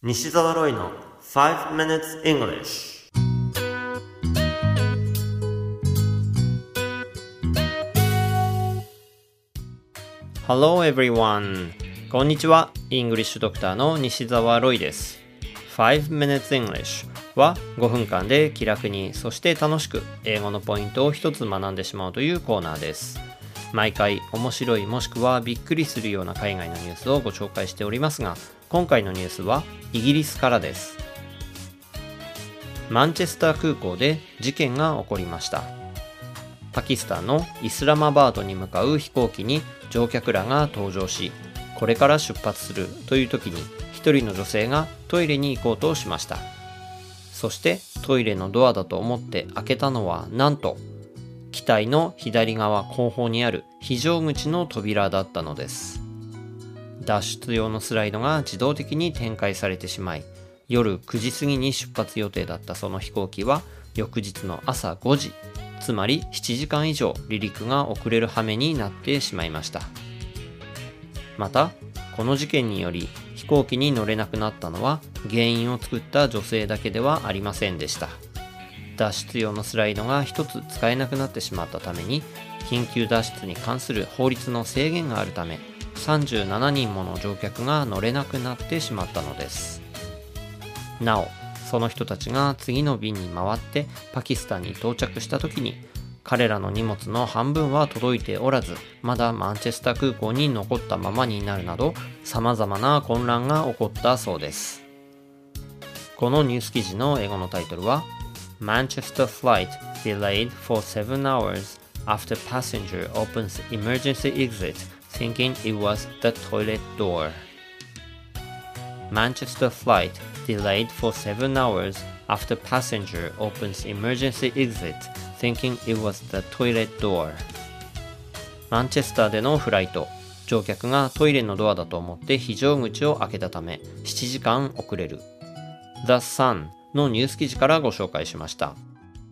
西澤ロイの5 minutes English。 Hello everyone。 こんにちは。イングリッシュドクターの西澤ロイです。5 minutes English は5分間で気楽にそして楽しく英語のポイントを一つ学んでしまうというコーナーです。毎回面白いもしくはびっくりするような海外のニュースをご紹介しておりますが、今回のニュースはイギリスからです。マンチェスター空港で事件が起こりました。パキスタンのイスラマバードに向かう飛行機に乗客らが搭乗し、これから出発するという時に一人の女性がトイレに行こうとしました。そしてトイレのドアだと思って開けたのはなんと機体の左側後方にある非常口の扉だったのです。脱出用のスライドが自動的に展開されてしまい、夜9時過ぎに出発予定だったその飛行機は翌日の朝5時、つまり7時間以上離陸が遅れる羽目になってしまいました。また、この事件により飛行機に乗れなくなったのは原因を作った女性だけではありませんでした。脱出用のスライドが一つ使えなくなってしまったために、緊急脱出に関する法律の制限があるため、37人もの乗客が乗れなくなってしまったのです。なお、その人たちが次の便に回ってパキスタンに到着した時に、彼らの荷物の半分は届いておらず、まだマンチェスター空港に残ったままになるなど、様々な混乱が起こったそうです。このニュース記事の英語のタイトルはManchester flight delayed for 7 hours after passenger opens emergency exit thinking it was the toilet door. Manchester flight delayed for 7 hours after passenger opens emergency exit thinking it was the toilet door. マンチェスターでのフライト、乗客がトイレのドアだと思って非常口を開けたため7時間遅れる。The Sunのニュース記事からご紹介しました。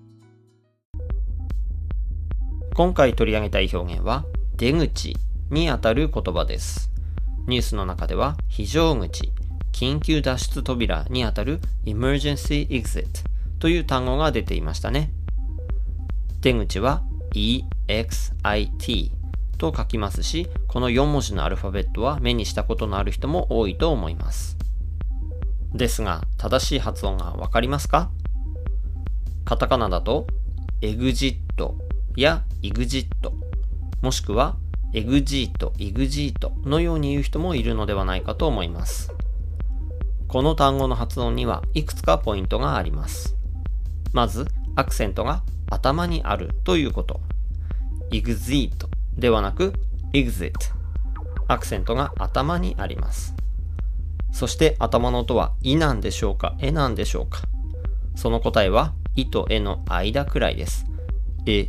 今回取り上げたい表現は出口にあたる言葉です。ニュースの中では非常口、緊急脱出扉にあたる emergency exit という単語が出ていましたね。出口は EXIT と書きますし、この4文字のアルファベットは目にしたことのある人も多いと思います。ですが、正しい発音がわかりますか？カタカナだと、エグジットやイグジット、もしくはエグジート、イグジートのように言う人もいるのではないかと思います。この単語の発音にはいくつかポイントがあります。まず、アクセントが頭にあるということ。イグジートではなく、エグジット。アクセントが頭にあります。そして頭の音はイなんでしょうか、エなんでしょうか。その答えはイとエの間くらいです。エ。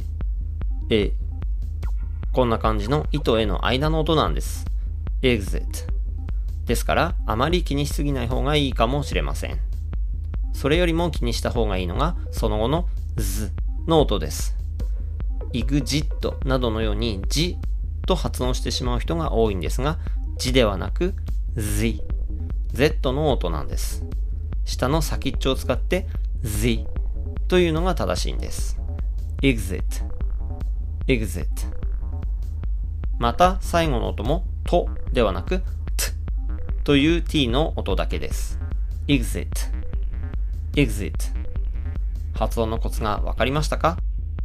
こんな感じのイとエの間の音なんです。exit。ですからあまり気にしすぎない方がいいかもしれません。それよりも気にした方がいいのがその後のズの音です。exit などのようにジと発音してしまう人が多いんですが、ジではなく Z。Z の音なんです。下の先っちょを使って Z というのが正しいんです。exit。また最後の音もとではなく t という t の音だけです。exit。発音のコツがわかりましたか？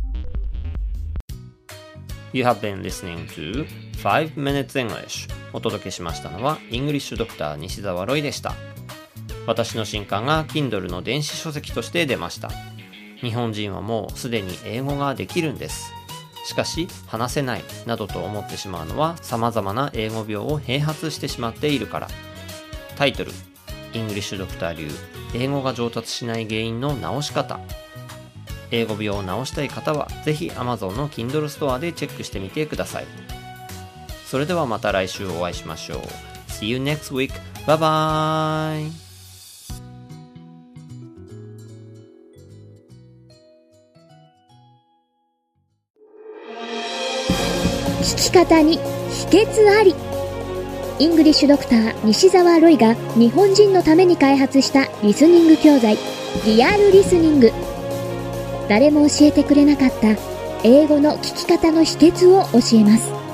You have been listening to 5 minutes English。お届けしましたのはイングリッシュドクター西澤ロイでした。私の新刊が Kindle の電子書籍として出ました。日本人はもうすでに英語ができるんです。しかし話せないなどと思ってしまうのは様々な英語病を併発してしまっているから。タイトル、イングリッシュドクター流英語が上達しない原因の直し方。英語病を直したい方はぜひ Amazon の Kindle ストアでチェックしてみてください。それではまた来週お会いしましょう。See you next week. Bye bye. 聞き方に秘訣あり。 イングリッシュドクター西澤ロイが日本人のために開発したリスニング教材リアルリスニング。誰も教えてくれなかった英語の聞き方の秘訣を教えます。